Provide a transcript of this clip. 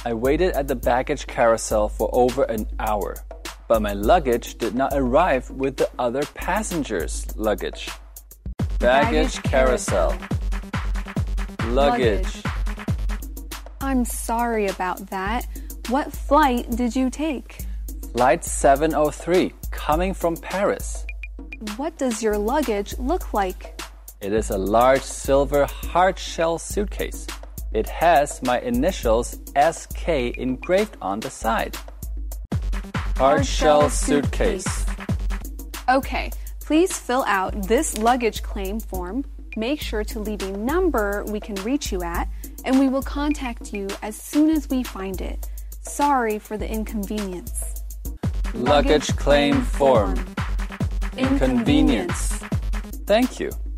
I waited at the baggage carousel for over an hour, but my luggage did not arrive with the other passengers' luggage. Baggage carousel. Luggage. I'm sorry about that. What flight did you take? Flight 703, coming from Paris. What does your luggage look like? It is a large silver hard-shell suitcase. It has my initials SK engraved on the side. Hard-shell suitcase. Okay, please fill out this luggage claim form. Make sure to leave a number we can reach you at, and we will contact you as soon as we find it. Sorry for the inconvenience. Luggage claim form. Inconvenience. Thank you.